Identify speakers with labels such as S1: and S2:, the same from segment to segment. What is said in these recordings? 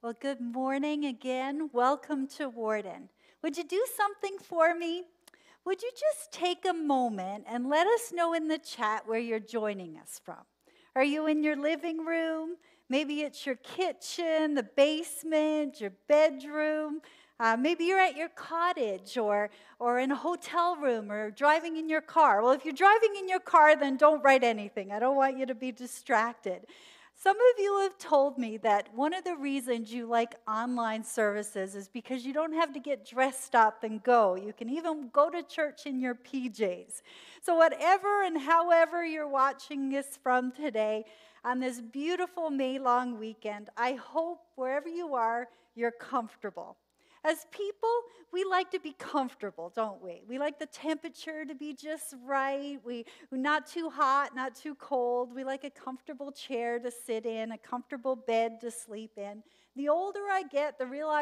S1: Well, good morning again. Welcome to Warden. Would you do something for me? Would you just take a moment and let us know in the chat where you're joining us from? Are you in your living room? Maybe it's your kitchen, the basement, your bedroom. Maybe you're at your cottage or in a hotel room or driving in your car. Well, if you're driving in your car, then don't write anything. I don't want you to be distracted. Some of you have told me that one of the reasons you like online services is because you don't have to get dressed up and go. You can even go to church in your PJs. So whatever and however you're watching this from today, on this beautiful May long weekend, I hope wherever you are, you're comfortable. As people, we like to be comfortable, don't we? We like the temperature to be just right. We're not too hot, not too cold. We like a comfortable chair to sit in, a comfortable bed to sleep in. The older I get,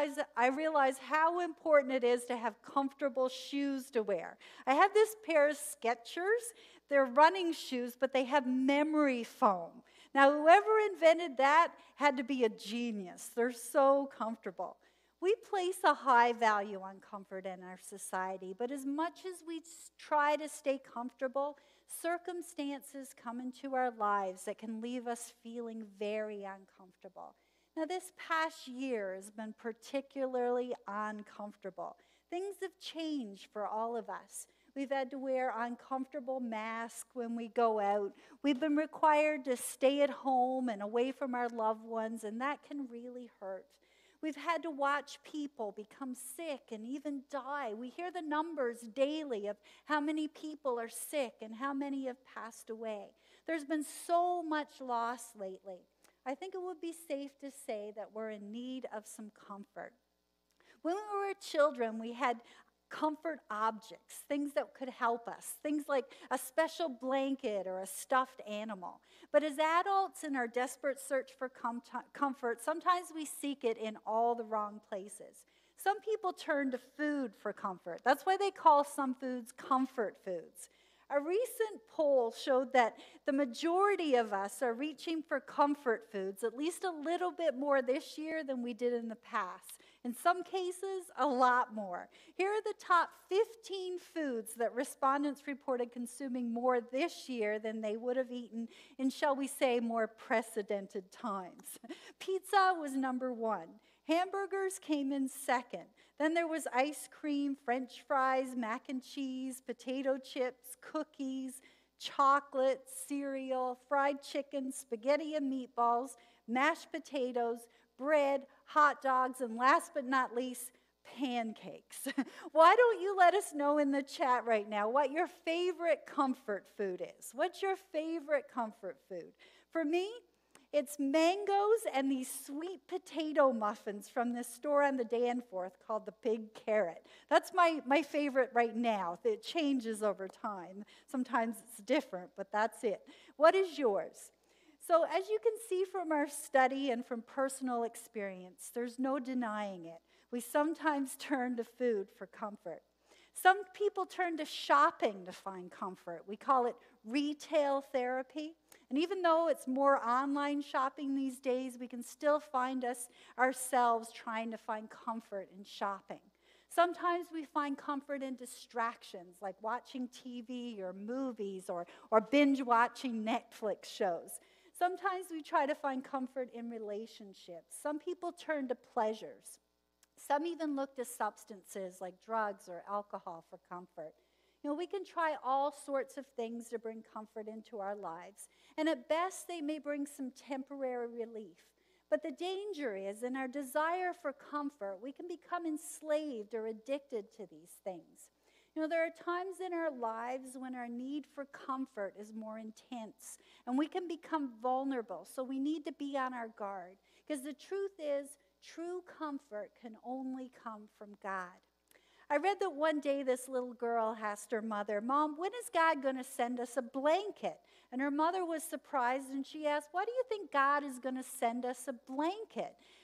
S1: I realize how important it is to have comfortable shoes to wear. I have this pair of Skechers. They're running shoes, but they have memory foam. Now, whoever invented that had to be a genius. They're so comfortable. We place a high value on comfort in our society, but as much as we try to stay comfortable, circumstances come into our lives that can leave us feeling very uncomfortable. Now, this past year has been particularly uncomfortable. Things have changed for all of us. We've had to wear uncomfortable masks when we go out. We've been required to stay at home and away from our loved ones, and that can really hurt. We've had to watch people become sick and even die. We hear the numbers daily of how many people are sick and how many have passed away. There's been so much loss lately. I think it would be safe to say that we're in need of some comfort. When we were children, we had comfort objects, things that could help us, things like a special blanket or a stuffed animal. But as adults in our desperate search for comfort, sometimes we seek it in all the wrong places. Some people turn to food for comfort. That's why they call some foods comfort foods. A recent poll showed that the majority of us are reaching for comfort foods at least a little bit more this year than we did in the past. In some cases, a lot more. Here are the top 15 foods that respondents reported consuming more this year than they would have eaten in, shall we say, more precedented times. Pizza was number one. Hamburgers came in second. Then there was ice cream, French fries, mac and cheese, potato chips, cookies, chocolate, cereal, fried chicken, spaghetti and meatballs, mashed potatoes, bread, hot dogs, and last but not least, pancakes. Why don't you let us know in the chat right now what your favorite comfort food is? What's your favorite comfort food? For me, it's mangoes and these sweet potato muffins from this store on the Danforth called the Big Carrot. That's my favorite right now. It changes over time. Sometimes it's different, but that's it. What is yours? So as you can see from our study and from personal experience, there's no denying it. We sometimes turn to food for comfort. Some people turn to shopping to find comfort. We call it retail therapy. And even though it's more online shopping these days, we can still find ourselves trying to find comfort in shopping. Sometimes we find comfort in distractions like watching TV or movies or binge watching Netflix shows. Sometimes we try to find comfort in relationships. Some people turn to pleasures. Some even look to substances like drugs or alcohol for comfort. We can try all sorts of things to bring comfort into our lives. And at best, they may bring some temporary relief. But the danger is in our desire for comfort, we can become enslaved or addicted to these things. There are times in our lives when our need for comfort is more intense and we can become vulnerable. So we need to be on our guard because the truth is, true comfort can only come from God. I read that one day this little girl asked her mother, "Mom, when is God going to send us a blanket?" And her mother was surprised and she asked, "Why do you think God is going to send us a blanket?"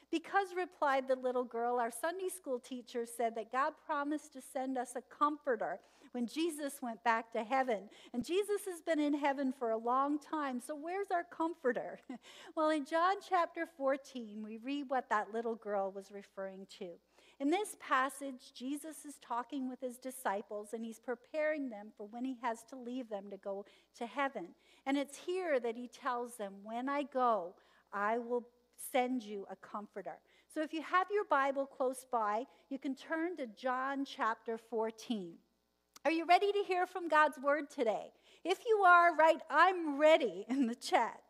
S1: Because, replied the little girl, our Sunday school teacher said that God promised to send us a comforter when Jesus went back to heaven. And Jesus has been in heaven for a long time, so where's our comforter? Well, in John chapter 14, we read what that little girl was referring to. In this passage, Jesus is talking with his disciples, and he's preparing them for when he has to leave them to go to heaven. And it's here that he tells them, when I go, I will send you a comforter. So if you have your Bible close by, you can turn to John chapter 14. Are you ready to hear from God's word today? If you are, right, I'm ready in the chat.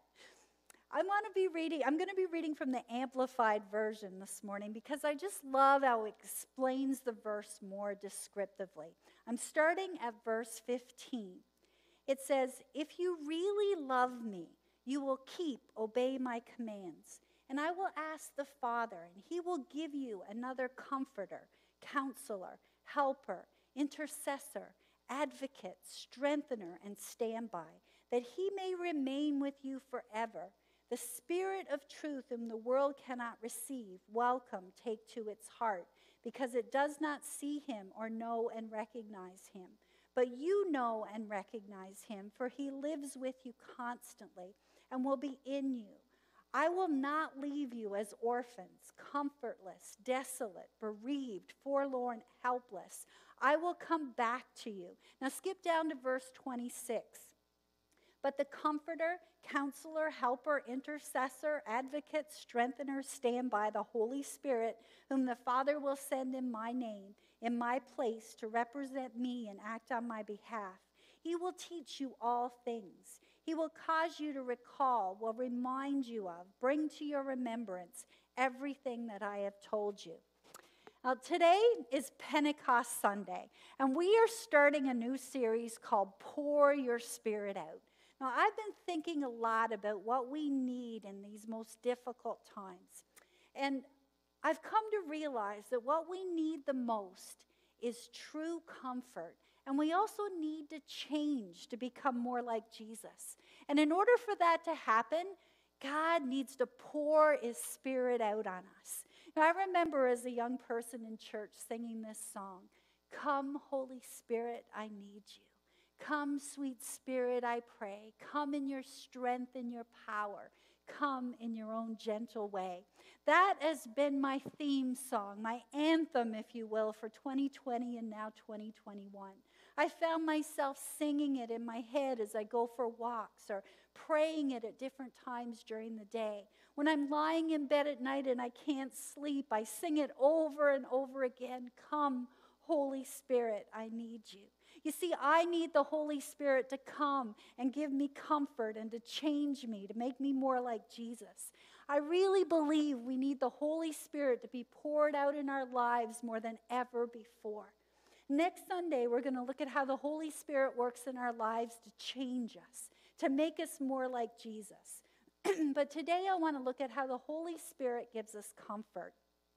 S1: I'm going to be reading from the Amplified Version this morning because I just love how it explains the verse more descriptively. I'm starting at verse 15. It says, "If you really love me, you will obey my commands. And I will ask the Father, and he will give you another comforter, counselor, helper, intercessor, advocate, strengthener, and standby, that he may remain with you forever. The Spirit of truth whom the world cannot receive, welcome, take to its heart, because it does not see him or know and recognize him. But you know and recognize him, for he lives with you constantly and will be in you. I will not leave you as orphans, comfortless, desolate, bereaved, forlorn, helpless. I will come back to you." Now skip down to verse 26. "But the Comforter, Counselor, Helper, Intercessor, Advocate, Strengthener, standby, the Holy Spirit, whom the Father will send in my name, in my place, to represent me and act on my behalf. He will teach you all things. He will cause you to recall, will remind you of, bring to your remembrance everything that I have told you." Now, today is Pentecost Sunday, and we are starting a new series called Pour Your Spirit Out. Now, I've been thinking a lot about what we need in these most difficult times. And I've come to realize that what we need the most is true comfort. And we also need to change to become more like Jesus. And in order for that to happen, God needs to pour his Spirit out on us. Now, I remember as a young person in church singing this song, "Come, Holy Spirit, I need you. Come, sweet Spirit, I pray. Come in your strength and your power. Come in your own gentle way." That has been my theme song, my anthem, if you will, for 2020 and now 2021. I found myself singing it in my head as I go for walks or praying it at different times during the day. When I'm lying in bed at night and I can't sleep, I sing it over and over again. "Come, Holy Spirit, I need you." You see, I need the Holy Spirit to come and give me comfort and to change me, to make me more like Jesus. I really believe we need the Holy Spirit to be poured out in our lives more than ever before. Next Sunday, we're going to look at how the Holy Spirit works in our lives to change us, to make us more like Jesus. But today I want to look at how the Holy Spirit gives us comfort.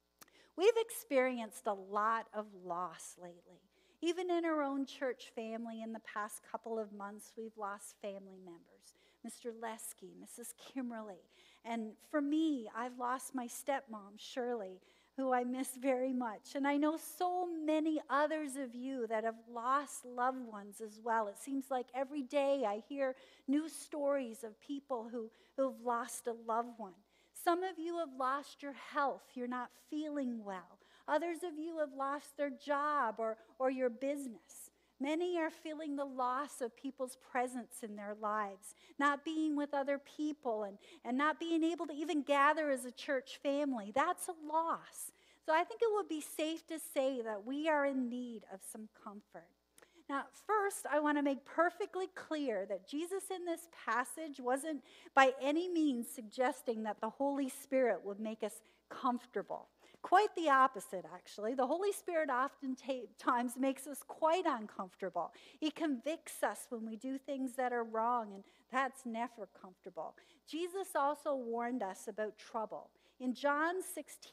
S1: We've experienced a lot of loss lately. Even in our own church family in the past couple of months, we've lost family members. Mr. Lesky, Mrs. Kimberly. And for me, I've lost my stepmom, Shirley, who I miss very much. And I know so many others of you that have lost loved ones as well. It seems like every day I hear new stories of people who've lost a loved one. Some of you have lost your health. You're not feeling well. Others of you have lost their job or your business. Many are feeling the loss of people's presence in their lives, not being with other people and not being able to even gather as a church family. That's a loss. So I think it would be safe to say that we are in need of some comfort. Now, first, I want to make perfectly clear that Jesus in this passage wasn't by any means suggesting that the Holy Spirit would make us comfortable. Quite the opposite, actually. The Holy Spirit oftentimes makes us quite uncomfortable. He convicts us when we do things that are wrong, and that's never comfortable. Jesus also warned us about trouble. In John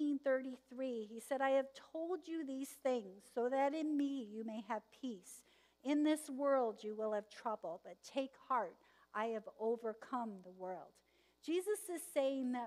S1: 16:33, he said, "I have told you these things so that in me you may have peace. In this world you will have trouble, but take heart, I have overcome the world." Jesus is saying that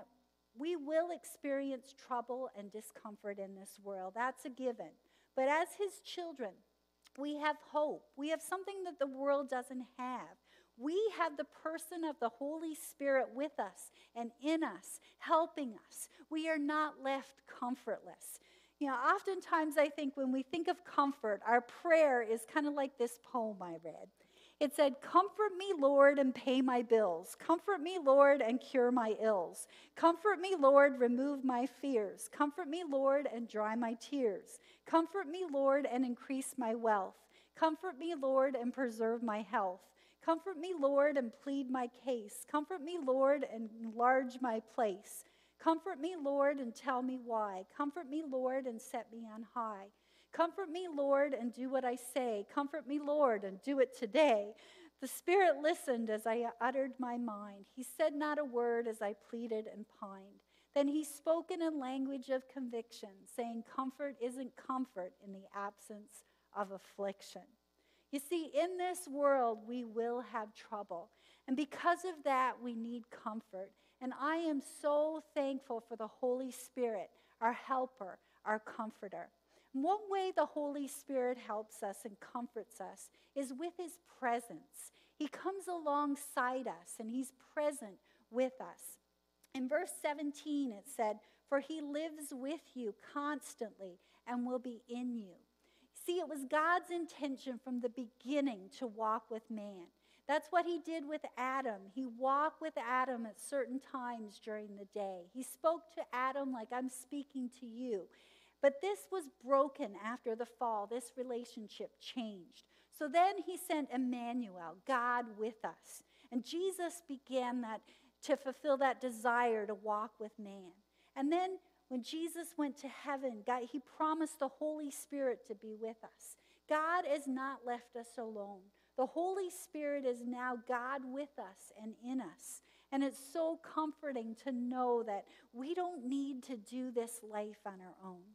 S1: We will experience trouble and discomfort in this world. That's a given. But as his children, we have hope. We have something that the world doesn't have. We have the person of the Holy Spirit with us and in us, helping us. We are not left comfortless. You know, oftentimes I think when we think of comfort, our prayer is kind of like this poem I read. It said, "Comfort me, Lord, and pay my bills. Comfort me, Lord, and cure my ills. Comfort me, Lord, remove my fears. Comfort me, Lord, and dry my tears. Comfort me, Lord, and increase my wealth. Comfort me, Lord, and preserve my health. Comfort me, Lord, and plead my case. Comfort me, Lord, and enlarge my place. Comfort me, Lord, and tell me why. Comfort me, Lord, and set me on high. Comfort me, Lord, and do what I say. Comfort me, Lord, and do it today." The Spirit listened as I uttered my mind. He said not a word as I pleaded and pined. Then he spoke in a language of conviction, saying, "Comfort isn't comfort in the absence of affliction." You see, in this world, we will have trouble. And because of that, we need comfort. And I am so thankful for the Holy Spirit, our helper, our comforter. One way the Holy Spirit helps us and comforts us is with his presence. He comes alongside us and he's present with us. In verse 17 it said, "For he lives with you constantly and will be in you." See, it was God's intention from the beginning to walk with man. That's what he did with Adam. He walked with Adam at certain times during the day. He spoke to Adam like I'm speaking to you. But this was broken after the fall. This relationship changed. So then he sent Emmanuel, God with us. And Jesus began that to fulfill that desire to walk with man. And then when Jesus went to heaven, he promised the Holy Spirit to be with us. God has not left us alone. The Holy Spirit is now God with us and in us. And it's so comforting to know that we don't need to do this life on our own.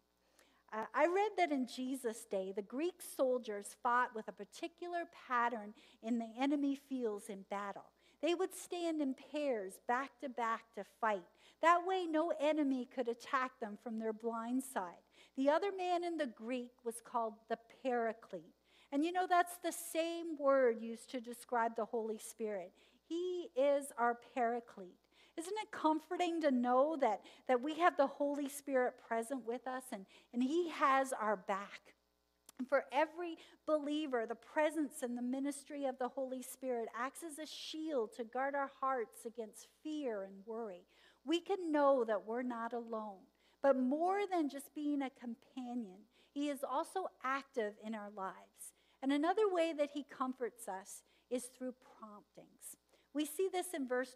S1: I read that in Jesus' day, the Greek soldiers fought with a particular pattern in the enemy fields in battle. They would stand in pairs, back to fight. That way, no enemy could attack them from their blind side. The other man in the Greek was called the Paraclete. And you know, that's the same word used to describe the Holy Spirit. He is our Paraclete. Isn't it comforting to know that we have the Holy Spirit present with us and he has our back? And for every believer, the presence and the ministry of the Holy Spirit acts as a shield to guard our hearts against fear and worry. We can know that we're not alone. But more than just being a companion, he is also active in our lives. And another way that he comforts us is through promptings. We see this in verse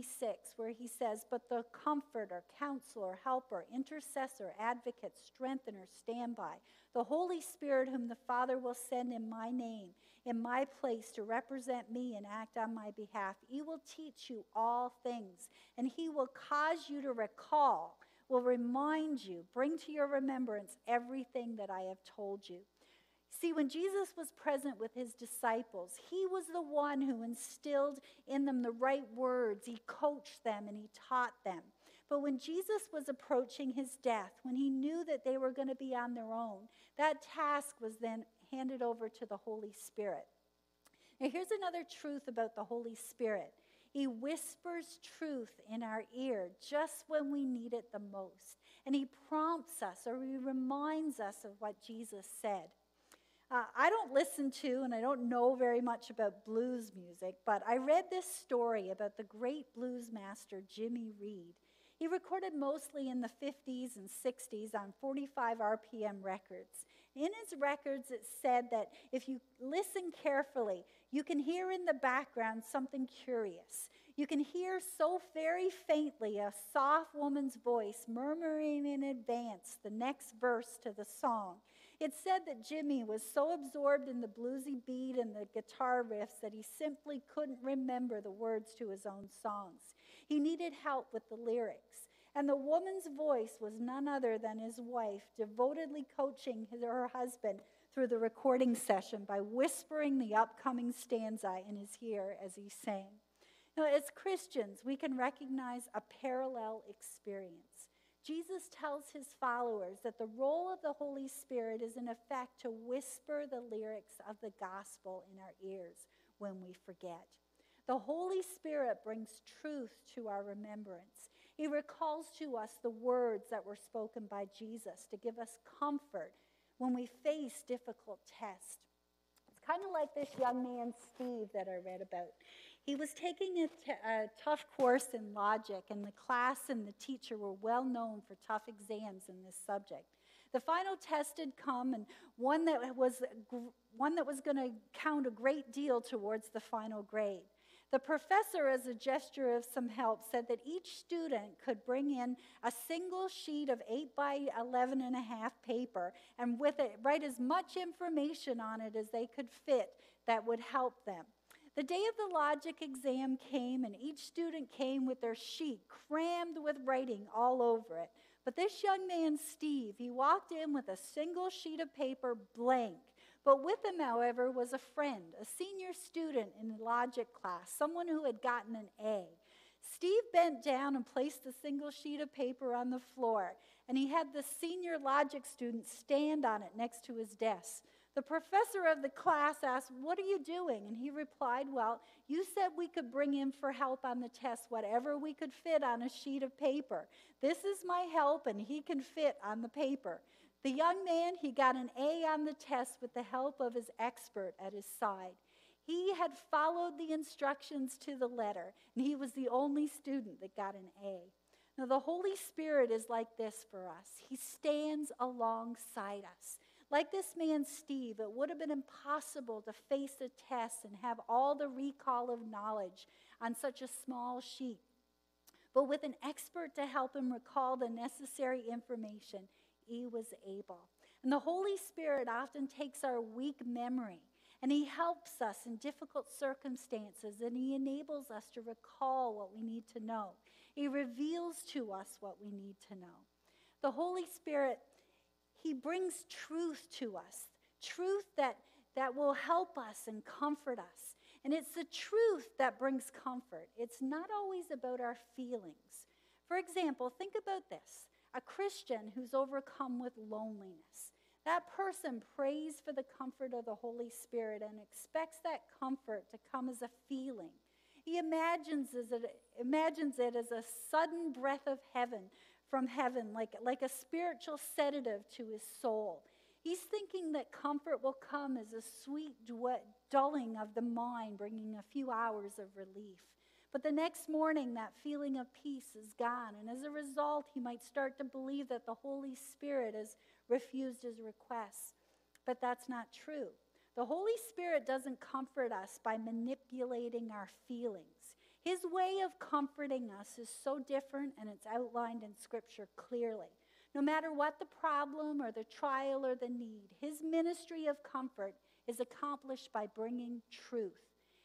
S1: 26 where he says, "But the comforter, counselor, helper, intercessor, advocate, strengthener, standby, the Holy Spirit whom the Father will send in my name, in my place to represent me and act on my behalf. He will teach you all things, and he will cause you to recall, will remind you, bring to your remembrance everything that I have told you." See, when Jesus was present with his disciples, he was the one who instilled in them the right words. He coached them and he taught them. But when Jesus was approaching his death, when he knew that they were going to be on their own, that task was then handed over to the Holy Spirit. Now, here's another truth about the Holy Spirit. He whispers truth in our ear just when we need it the most. And he prompts us or he reminds us of what Jesus said. I don't listen to and I don't know very much about blues music, but I read this story about the great blues master Jimmy Reed. He recorded mostly in the 50s and 60s on 45 RPM records. In his records, it said that if you listen carefully, you can hear in the background something curious. You can hear so very faintly a soft woman's voice murmuring in advance the next verse to the song. It said that Jimmy was so absorbed in the bluesy beat and the guitar riffs that he simply couldn't remember the words to his own songs. He needed help with the lyrics. And the woman's voice was none other than his wife, devotedly coaching her husband through the recording session by whispering the upcoming stanza in his ear as he sang. Now, as Christians, we can recognize a parallel experience. Jesus tells his followers that the role of the Holy Spirit is, in effect, to whisper the lyrics of the gospel in our ears when we forget. The Holy Spirit brings truth to our remembrance. He recalls to us the words that were spoken by Jesus to give us comfort when we face difficult tests. It's kind of like this young man, Steve, that I read about. He was taking a tough course in logic, and the class and the teacher were well known for tough exams in this subject. The final test had come, and one that was going to count a great deal towards the final grade. The professor, as a gesture of some help, said that each student could bring in a single sheet of 8 by 11.5 paper, and with it write as much information on it as they could fit that would help them. The day of the logic exam came, and each student came with their sheet crammed with writing all over it. But this young man, Steve, he walked in with a single sheet of paper blank. But with him, however, was a friend, a senior student in the logic class, someone who had gotten an A. Steve bent down and placed the single sheet of paper on the floor, and he had the senior logic student stand on it next to his desk. The professor of the class asked, "What are you doing?" And he replied, "Well, you said we could bring in for help on the test whatever we could fit on a sheet of paper. This is my help, and he can fit on the paper." The young man, he got an A on the test with the help of his expert at his side. He had followed the instructions to the letter, and he was the only student that got an A. Now, the Holy Spirit is like this for us. He stands alongside us. Like this man, Steve, it would have been impossible to face a test and have all the recall of knowledge on such a small sheet. But with an expert to help him recall the necessary information, he was able. And the Holy Spirit often takes our weak memory, and he helps us in difficult circumstances, and he enables us to recall what we need to know. He reveals to us what we need to know. The Holy Spirit, he brings truth to us, truth that will help us and comfort us. And it's the truth that brings comfort. It's not always about our feelings. For example, think about this. A Christian who's overcome with loneliness. That person prays for the comfort of the Holy Spirit and expects that comfort to come as a feeling. He imagines it as a sudden breath of heaven, from heaven, like a spiritual sedative to his soul. He's thinking that comfort will come as a sweet dulling of the mind, bringing a few hours of relief. But the next morning, that feeling of peace is gone, and as a result, he might start to believe that the Holy Spirit has refused his requests. But that's not true. The Holy Spirit doesn't comfort us by manipulating our feelings. His way of comforting us is so different, and it's outlined in Scripture clearly. No matter what the problem or the trial or the need, his ministry of comfort is accomplished by bringing truth.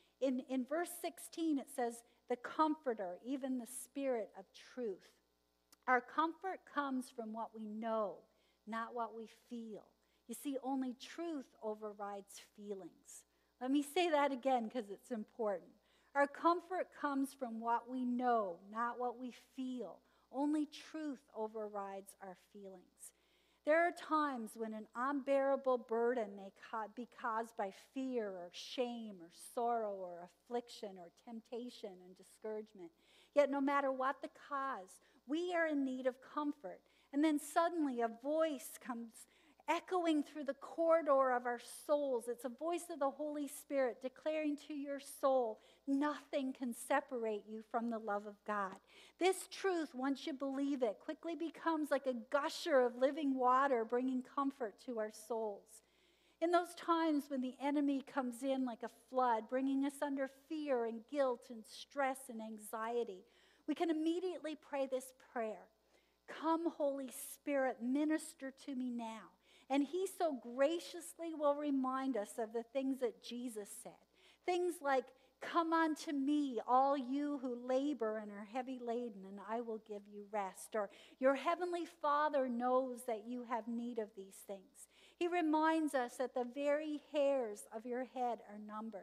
S1: In verse 16, it says, "The Comforter, even the Spirit of truth." Our comfort comes from what we know, not what we feel. You see, only truth overrides feelings. Let me say that again because it's important. Our comfort comes from what we know, not what we feel. Only truth overrides our feelings. There are times when an unbearable burden may be caused by fear or shame or sorrow or affliction or temptation and discouragement. Yet no matter what the cause, we are in need of comfort. And then suddenly a voice comes echoing through the corridor of our souls. It's a voice of the Holy Spirit declaring to your soul, nothing can separate you from the love of God. This truth, once you believe it, quickly becomes like a gusher of living water, bringing comfort to our souls. In those times when the enemy comes in like a flood, bringing us under fear and guilt and stress and anxiety, we can immediately pray this prayer. Come, Holy Spirit, minister to me now. And he so graciously will remind us of the things that Jesus said. Things like, "Come unto me, all you who labor and are heavy laden, and I will give you rest." Or, "Your heavenly Father knows that you have need of these things." He reminds us that the very hairs of your head are numbered.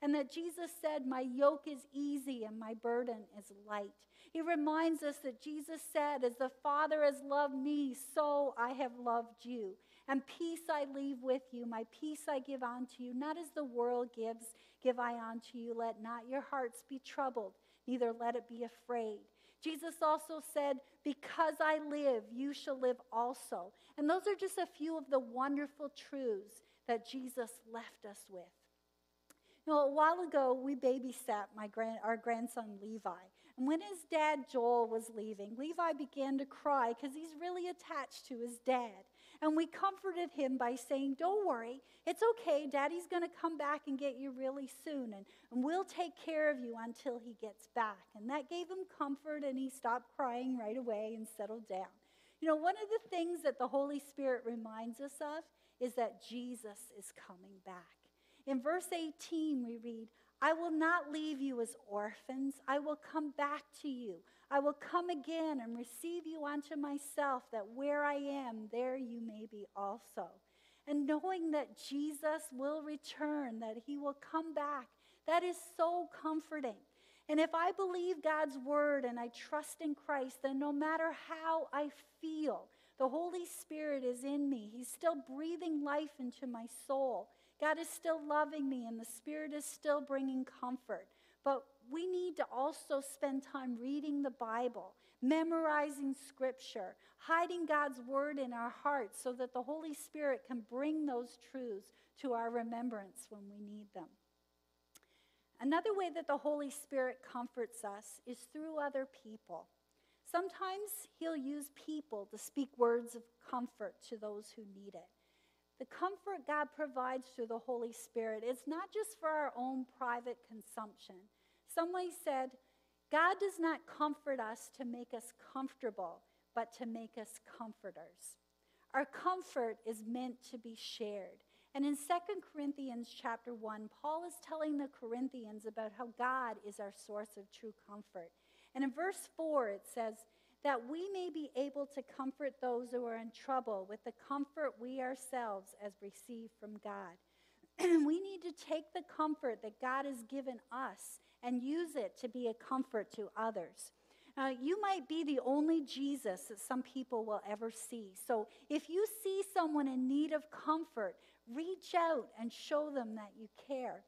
S1: and that Jesus said, my yoke is easy and my burden is light. He reminds us that Jesus said, as the Father has loved me, so I have loved you. And peace I leave with you, my peace I give unto you. Not as the world gives, give I unto you. Let not your hearts be troubled, neither let it be afraid. Jesus also said, because I live, you shall live also. And those are just a few of the wonderful truths that Jesus left us with. You know, a while ago, we babysat our grandson Levi. And when his dad Joel was leaving, Levi began to cry because he's really attached to his dad. And we comforted him by saying, don't worry, it's okay. Daddy's going to come back and get you really soon. And we'll take care of you until he gets back. And that gave him comfort, and he stopped crying right away and settled down. You know, one of the things that the Holy Spirit reminds us of is that Jesus is coming back. In verse 18, we read, I will not leave you as orphans. I will come back to you. I will come again and receive you unto myself, that where I am, there you may be also. And knowing that Jesus will return, that he will come back, that is so comforting. And if I believe God's word and I trust in Christ, then no matter how I feel, the Holy Spirit is in me. He's still breathing life into my soul. God is still loving me, and the Spirit is still bringing comfort. But we need to also spend time reading the Bible, memorizing Scripture, hiding God's word in our hearts so that the Holy Spirit can bring those truths to our remembrance when we need them. Another way that the Holy Spirit comforts us is through other people. Sometimes he'll use people to speak words of comfort to those who need it. The comfort God provides through the Holy Spirit is not just for our own private consumption. Somebody said, God does not comfort us to make us comfortable, but to make us comforters. Our comfort is meant to be shared. And in 2 Corinthians chapter 1, Paul is telling the Corinthians about how God is our source of true comfort. And in verse 4, it says, that we may be able to comfort those who are in trouble with the comfort we ourselves have received from God. We need to take the comfort that God has given us and use it to be a comfort to others. You might be the only Jesus that some people will ever see. So if you see someone in need of comfort, reach out and show them that you care.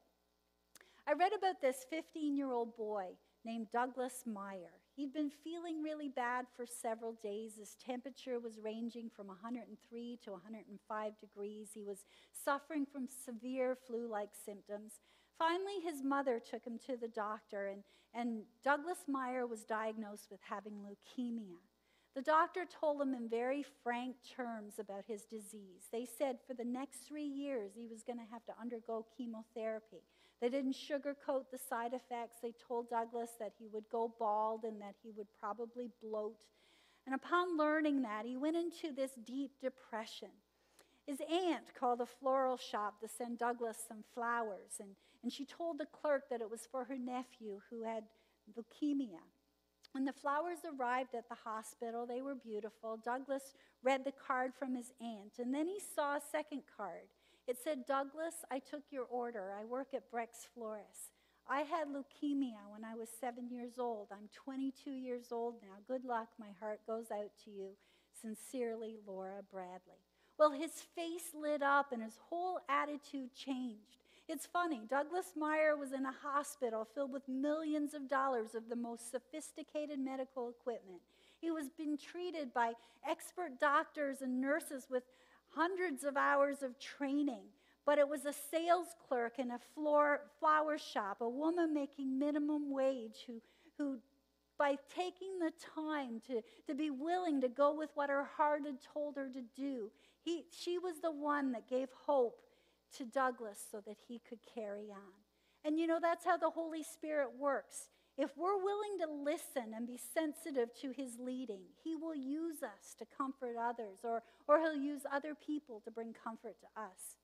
S1: I read about this 15-year-old boy named Douglas Meyer. He'd been feeling really bad for several days. His temperature was ranging from 103 to 105 degrees. He was suffering from severe flu-like symptoms. Finally, his mother took him to the doctor, and Douglas Meyer was diagnosed with having leukemia. The doctor told him in very frank terms about his disease. They said for the next 3 years he was going to have to undergo chemotherapy. They didn't sugarcoat the side effects. They told Douglas that he would go bald and that he would probably bloat. And upon learning that, he went into this deep depression. His aunt called a floral shop to send Douglas some flowers, and she told the clerk that it was for her nephew who had leukemia. When the flowers arrived at the hospital, they were beautiful. Douglas read the card from his aunt, and then he saw a second card. It said, Douglas, I took your order. I work at Breck's Florist. I had leukemia when I was 7 years old. I'm 22 years old now. Good luck. My heart goes out to you. Sincerely, Laura Bradley. Well, his face lit up and his whole attitude changed. It's funny, Douglas Meyer was in a hospital filled with millions of dollars of the most sophisticated medical equipment. He was being treated by expert doctors and nurses with hundreds of hours of training. But it was a sales clerk in a flower shop, a woman making minimum wage who by taking the time to be willing to go with what her heart had told her to do, she was the one that gave hope to Douglas so that he could carry on. And you know, that's how the Holy Spirit works. If we're willing to listen and be sensitive to his leading, he will use us to comfort others, or he'll use other people to bring comfort to us.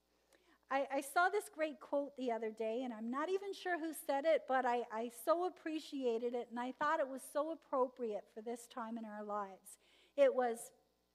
S1: I saw this great quote the other day, and I'm not even sure who said it, but I so appreciated it, and I thought it was so appropriate for this time in our lives. It was,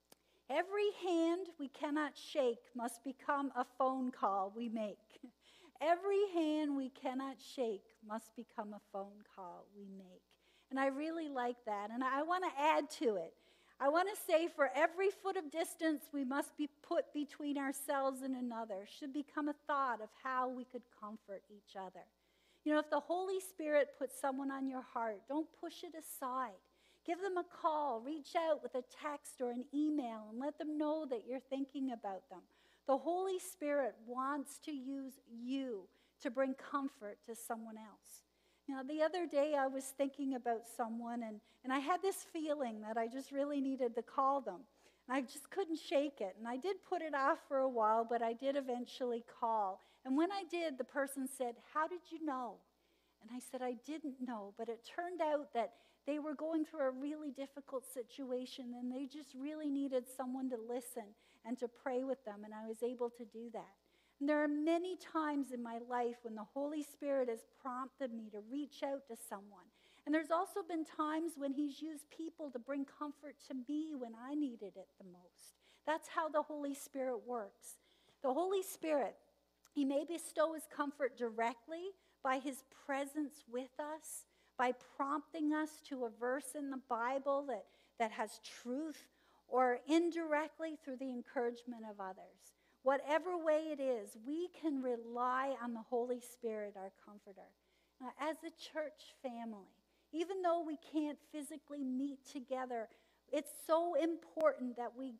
S1: every hand we cannot shake must become a phone call we make. Every hand we cannot shake must become a phone call we make. And I really like that. And I want to add to it. I want to say for every foot of distance we must be put between ourselves and another should become a thought of how we could comfort each other. You know, if the Holy Spirit puts someone on your heart, don't push it aside. Give them a call, reach out with a text or an email, and let them know that you're thinking about them. The Holy Spirit wants to use you to bring comfort to someone else. You know, the other day I was thinking about someone, and I had this feeling that I just really needed to call them. And I just couldn't shake it. And I did put it off for a while, but I did eventually call. And when I did, the person said, "How did you know?" And I said, "I didn't know." But it turned out that they were going through a really difficult situation, and they just really needed someone to listen and to pray with them. And I was able to do that. And there are many times in my life when the Holy Spirit has prompted me to reach out to someone. And there's also been times when he's used people to bring comfort to me when I needed it the most. That's how the Holy Spirit works. The Holy Spirit, he may bestow his comfort directly by his presence with us, by prompting us to a verse in the Bible that has truth, or indirectly through the encouragement of others. Whatever way it is, we can rely on the Holy Spirit, our comforter. As a church family, even though we can't physically meet together, it's so important that we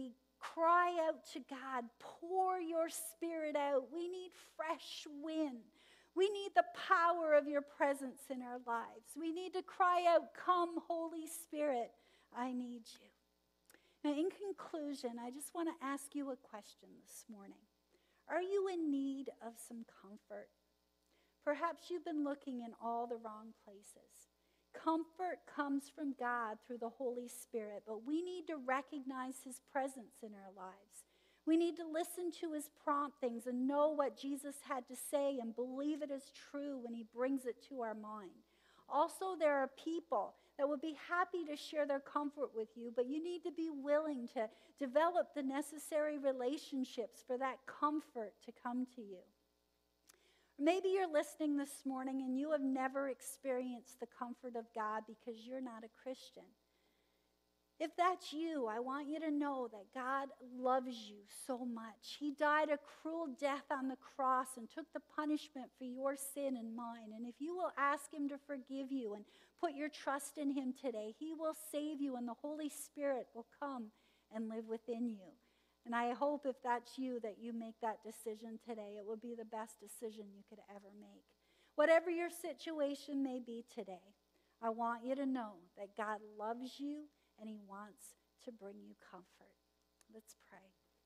S1: cry out to God, pour your Spirit out. We need fresh wind. We need the power of your presence in our lives. We need to cry out, "Come, Holy Spirit, I need you." Now, in conclusion, I just want to ask you a question this morning. Are you in need of some comfort? Perhaps you've been looking in all the wrong places. Comfort comes from God through the Holy Spirit, but we need to recognize his presence in our lives. We need to listen to his promptings and know what Jesus had to say and believe it is true when he brings it to our mind. Also, there are people that would be happy to share their comfort with you, but you need to be willing to develop the necessary relationships for that comfort to come to you. Maybe you're listening this morning and you have never experienced the comfort of God because you're not a Christian. If that's you, I want you to know that God loves you so much. He died a cruel death on the cross and took the punishment for your sin and mine. And if you will ask him to forgive you and put your trust in him today, he will save you and the Holy Spirit will come and live within you. And I hope if that's you that you make that decision today. It will be the best decision you could ever make. Whatever your situation may be today, I want you to know that God loves you and he wants to bring you comfort. Let's pray.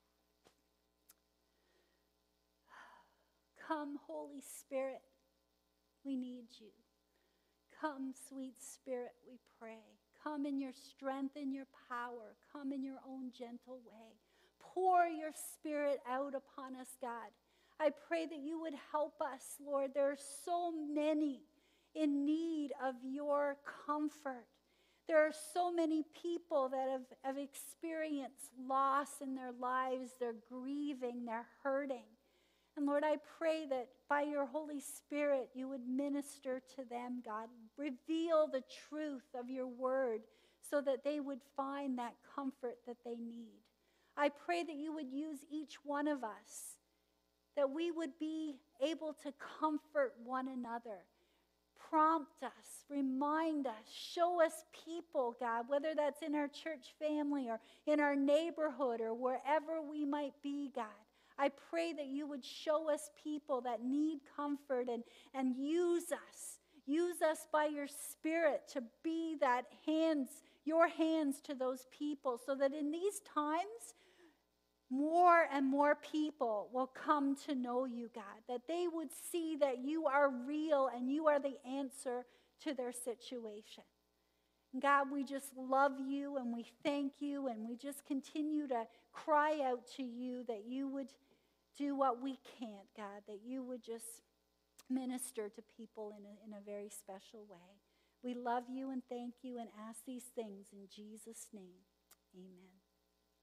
S1: Come, Holy Spirit, we need you. Come, sweet Spirit, we pray. Come in your strength and your power. Come in your own gentle way. Pour your Spirit out upon us, God. I pray that you would help us, Lord. There are so many in need of your comfort. There are so many people that have experienced loss in their lives. They're grieving, they're hurting. And Lord, I pray that by your Holy Spirit, you would minister to them, God. Reveal the truth of your word so that they would find that comfort that they need. I pray that you would use each one of us, that we would be able to comfort one another. Prompt us, remind us, show us people, God, whether that's in our church family or in our neighborhood or wherever we might be, God. I pray that you would show us people that need comfort and use us. Use us by your Spirit to be that your hands to those people so that in these times, more and more people will come to know you, God, that they would see that you are real and you are the answer to their situation. God, we just love you and we thank you and we just continue to cry out to you that you would do what we can't, God, that you would just minister to people in a very special way. We love you and thank you and ask these things in Jesus' name. Amen.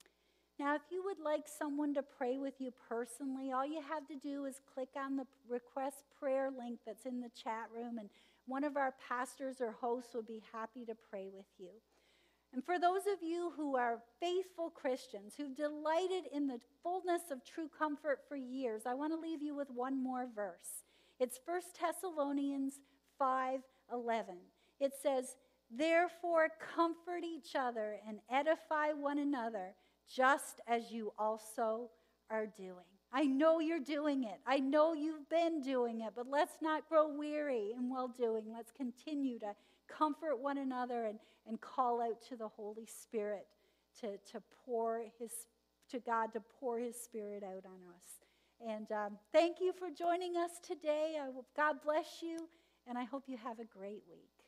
S1: Now, if you would like someone to pray with you personally, all you have to do is click on the request prayer link that's in the chat room, and one of our pastors or hosts will be happy to pray with you. And for those of you who are faithful Christians, who've delighted in the fullness of true comfort for years, I want to leave you with one more verse. It's 1 Thessalonians 5:11. It says, "Therefore comfort each other and edify one another, just as you also are doing." I know you're doing it. I know you've been doing it, but let's not grow weary in well-doing. Let's continue to comfort one another and call out to the Holy Spirit to God to pour his Spirit out on us. And thank you for joining us today. God bless you, and I hope you have a great week.